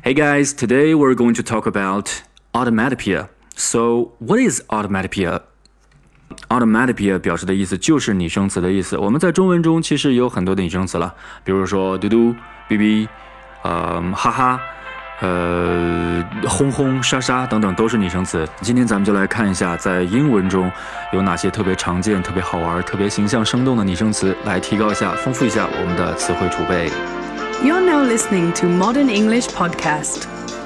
Hey guys, today we're going to talk about automatopoeia. So, what is automatopoeia? Automatopoeia 表示的意思就是拟声词的意思。我们在中文中其实有很多的拟声词了，比如说嘟嘟、哔哔、哈哈、轰轰、沙沙等等都是拟声词。今天咱们就来看一下，在英文中有哪些特别常见、特别好玩、特别形象生动的拟声词，来提高一下、丰富一下我们的词汇储备。 You're now listening to Modern English Podcast.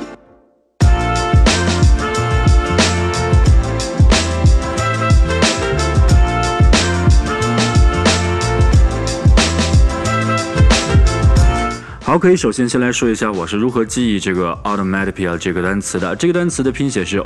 好，可以首先来说一下我是如何记忆这个 automatopoeia 这个单词的。这个单词的拼写是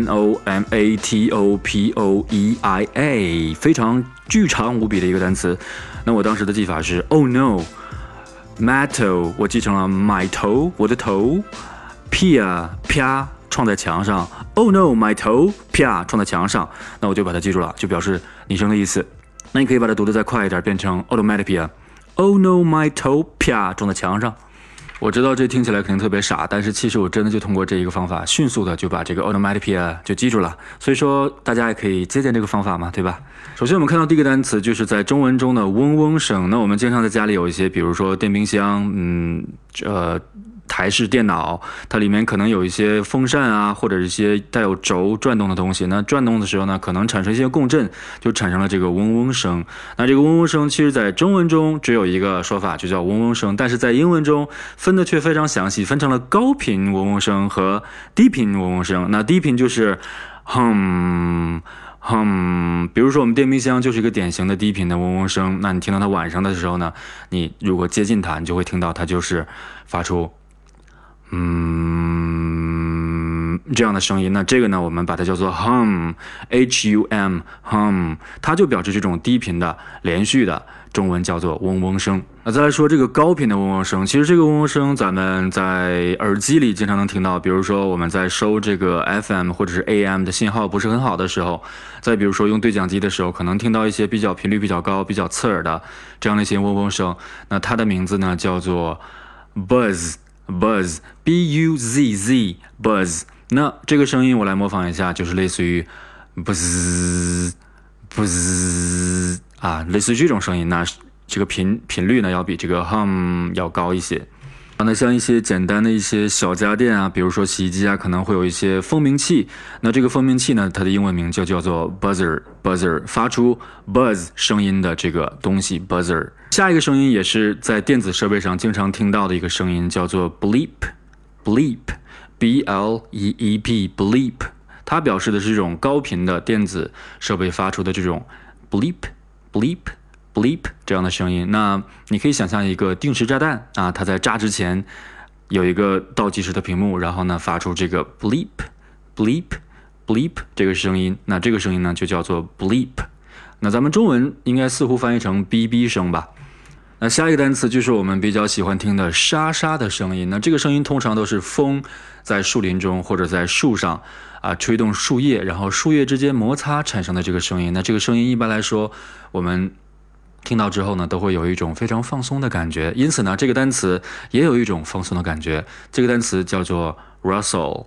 onomatopoeia， 非常巨长无比的一个单词。那我当时的记法是 oh no。Mato 我记成了 my 头，我的头，啪啪撞在墙上 ，Oh no my 头啪撞在墙上，那我就把它记住了，就表示拟声的意思。那你可以把它读得再快一点，变成 automatopoeia。Oh no my 头啪撞在墙上。我知道这听起来肯定特别傻，但是其实我真的就通过这一个方法，迅速的就把这个 automatopoeia 就记住了。所以说大家也可以借鉴这个方法嘛，对吧？首先我们看到第一个单词就是在中文中的嗡嗡声。那我们经常在家里有一些，比如说电冰箱，台式电脑，它里面可能有一些风扇啊，或者一些带有轴转动的东西。那转动的时候呢，可能产生一些共振，就产生了这个嗡嗡声。那这个嗡嗡声，其实在中文中只有一个说法，就叫嗡嗡声，但是在英文中分的却非常详细，分成了高频嗡嗡声和低频嗡嗡声。那低频就是比如说我们电冰箱就是一个典型的低频的嗡嗡声。那你听到它晚上的时候呢，你如果接近它，你就会听到它就是发出这样的声音。那这个呢，我们把它叫做 hum， 它就表示这种低频的连续的，中文叫做嗡嗡声。那再来说这个高频的嗡嗡声，其实这个嗡嗡声咱们在耳机里经常能听到，比如说我们在收这个 FM 或者是 AM 的信号不是很好的时候，再比如说用对讲机的时候，可能听到一些频率比较高、比较刺耳的这样的一些嗡嗡声。那它的名字呢叫做 buzz B-U-Z-Z buzz。 那这个声音我来模仿一下，就是类似于 buzz 啊，类似于这种声音。那这个频率呢要比这个 hum 要高一些。那像一些简单的一些小家电啊，比如说洗衣机啊，可能会有一些蜂鸣器。那这个蜂鸣器呢，它的英文名就叫做 buzzer， 发出 buzz 声音的这个东西 buzzer。 下一个声音也是在电子设备上经常听到的一个声音，叫做 bleep B-L-E-E-P bleep， 它表示的是这种高频的电子设备发出的这种 bleep这样的声音。那你可以想象一个定时炸弹啊，它在炸之前有一个倒计时的屏幕，然后呢发出这个 bleep 这个声音。那这个声音呢就叫做 bleep。 那咱们中文应该似乎翻译成哔哔声吧。那下一个单词就是我们比较喜欢听的沙沙的声音。那这个声音通常都是风在树林中或者在树上吹动树叶，然后树叶之间摩擦产生的这个声音。那这个声音一般来说我们听到之后呢，都会有一种非常放松的感觉，因此呢这个单词也有一种放松的感觉。这个单词叫做 rustle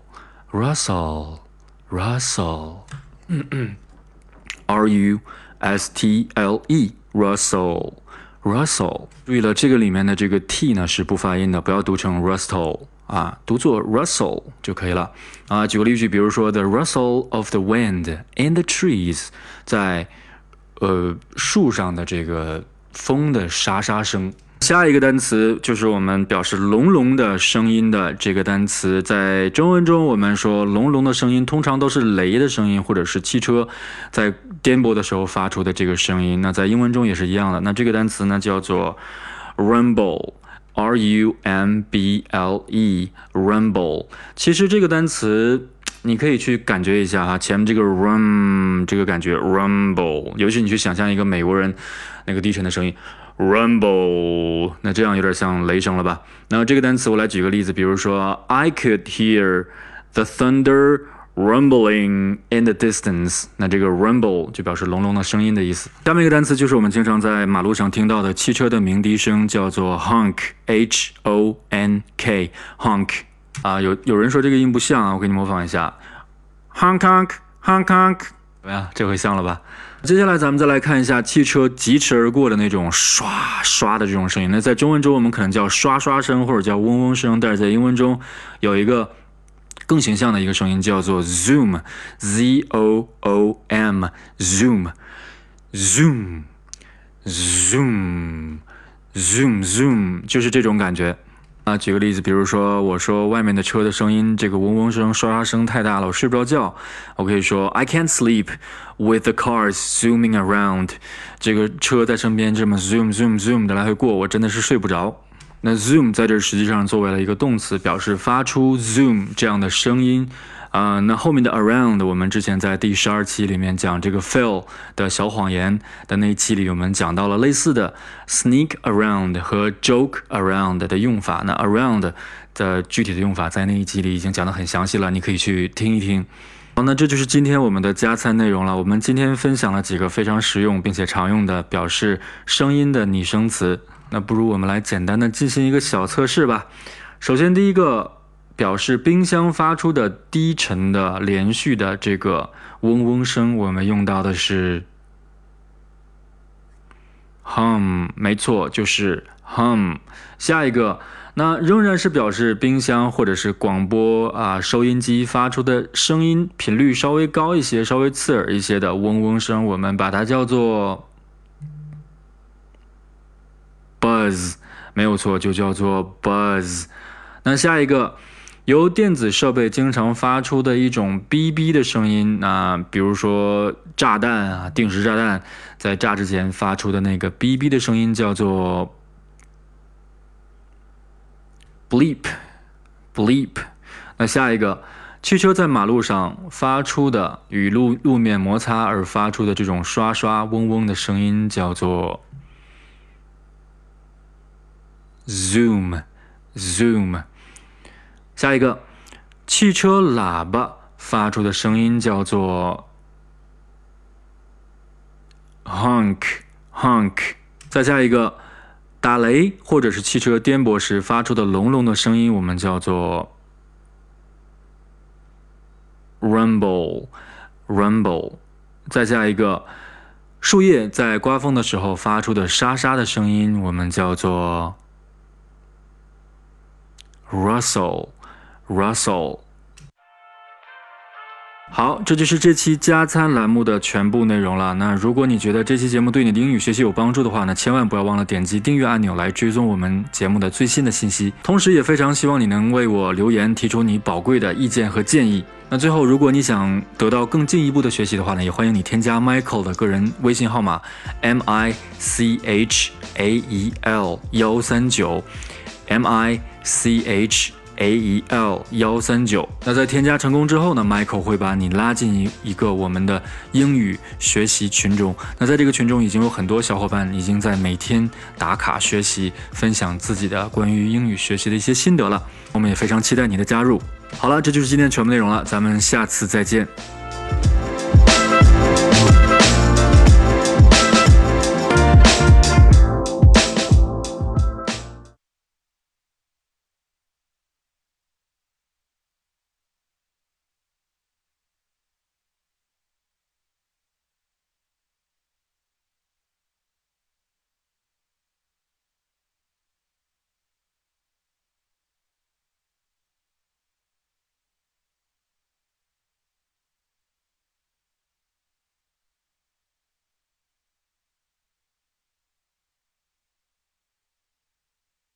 R-U-S-T-L-E Rustle。 注意了，这个里面的这个 t 呢是不发音的，不要读成 rustle 读作 rustle 就可以了举个例句，比如说 the rustle of the wind in the trees， 在树上的这个风的沙沙声。下一个单词就是我们表示隆隆的声音的这个单词。在中文中我们说隆隆的声音通常都是雷的声音，或者是汽车在颠簸的时候发出的这个声音。那在英文中也是一样的。那这个单词呢叫做 rumble R-U-M-B-L-E rumble。 其实这个单词你可以去感觉一下前面这个 这个感觉 rumble， 尤其你去想象一个美国人那个低沉的声音rumble， 那这样有点像雷声了吧。那这个单词我来举个例子，比如说 I could hear the thunder rumbling in the distance， 那这个 rumble 就表示隆隆的声音的意思。下面一个单词就是我们经常在马路上听到的汽车的鸣笛声，叫做 honk H-O-N-K honk。 啊，有人说这个音不像啊，我给你模仿一下 ，Hong Kong Hong Kong， 怎么样？这回像了吧？接下来咱们再来看一下汽车疾驰而过的那种刷刷的这种声音。那在中文中我们可能叫刷刷声或者叫嗡嗡声，但是在英文中有一个更形象的一个声音叫做 zoom Z O O M zoom zoom zoom zoom zoom 就是这种感觉。啊，举个例子，比如说我说外面的车的声音，这个嗡嗡声、刷刷声太大了，我睡不着觉。我可以说 I can't sleep with the cars zooming around。这个车在身边这么 zoom zoom zoom 的来回过，我真的是睡不着。那 zoom 在这实际上作为了一个动词，表示发出 zoom 这样的声音。那后面的 around 我们之前在第12期里面讲这个 Phil 的小谎言的那一期里，我们讲到了类似的 sneak around 和 joke around 的用法。那 around 的具体的用法在那一集里已经讲得很详细了，你可以去听一听。好，那这就是今天我们的加餐内容了。我们今天分享了几个非常实用并且常用的表示声音的拟声词。那不如我们来简单的进行一个小测试吧。首先第一个，表示冰箱发出的低沉的连续的这个嗡嗡声，我们用到的是 hum， 没错，就是 hum。下一个，那仍然是表示冰箱或者是广播收音机发出的声音频率稍微高一些、稍微刺耳一些的嗡嗡声，我们把它叫做 buzz， 没有错，就叫做 buzz。那下一个，由电子设备经常发出的一种哔哔的声音，比如说炸弹定时炸弹在炸之前发出的那个哔哔的声音叫做 bleep bleep。那下一个，汽车在马路上发出的与路面摩擦而发出的这种刷刷嗡嗡的声音叫做 zoom zoom。下一个，汽车喇叭发出的声音叫做 honk honk。再下一个，打雷或者是汽车颠簸时发出的隆隆的声音，我们叫做 rumble rumble。再下一个，树叶在刮风的时候发出的沙沙的声音，我们叫做 rustle Russell。 好，这就是这期加餐栏目的全部内容了。那如果你觉得这期节目对你的英语学习有帮助的话呢，千万不要忘了点击订阅按钮来追踪我们节目的最新的信息。同时也非常希望你能为我留言，提出你宝贵的意见和建议。那最后，如果你想得到更进一步的学习的话呢，也欢迎你添加 Michael 的个人微信号码 MICHAEL139 MICHAEL139。那在添加成功之后呢 ，Michael 会把你拉进一个我们的英语学习群中。那在这个群中已经有很多小伙伴已经在每天打卡学习，分享自己的关于英语学习的一些心得了。我们也非常期待你的加入。好了，这就是今天全部内容了，咱们下次再见。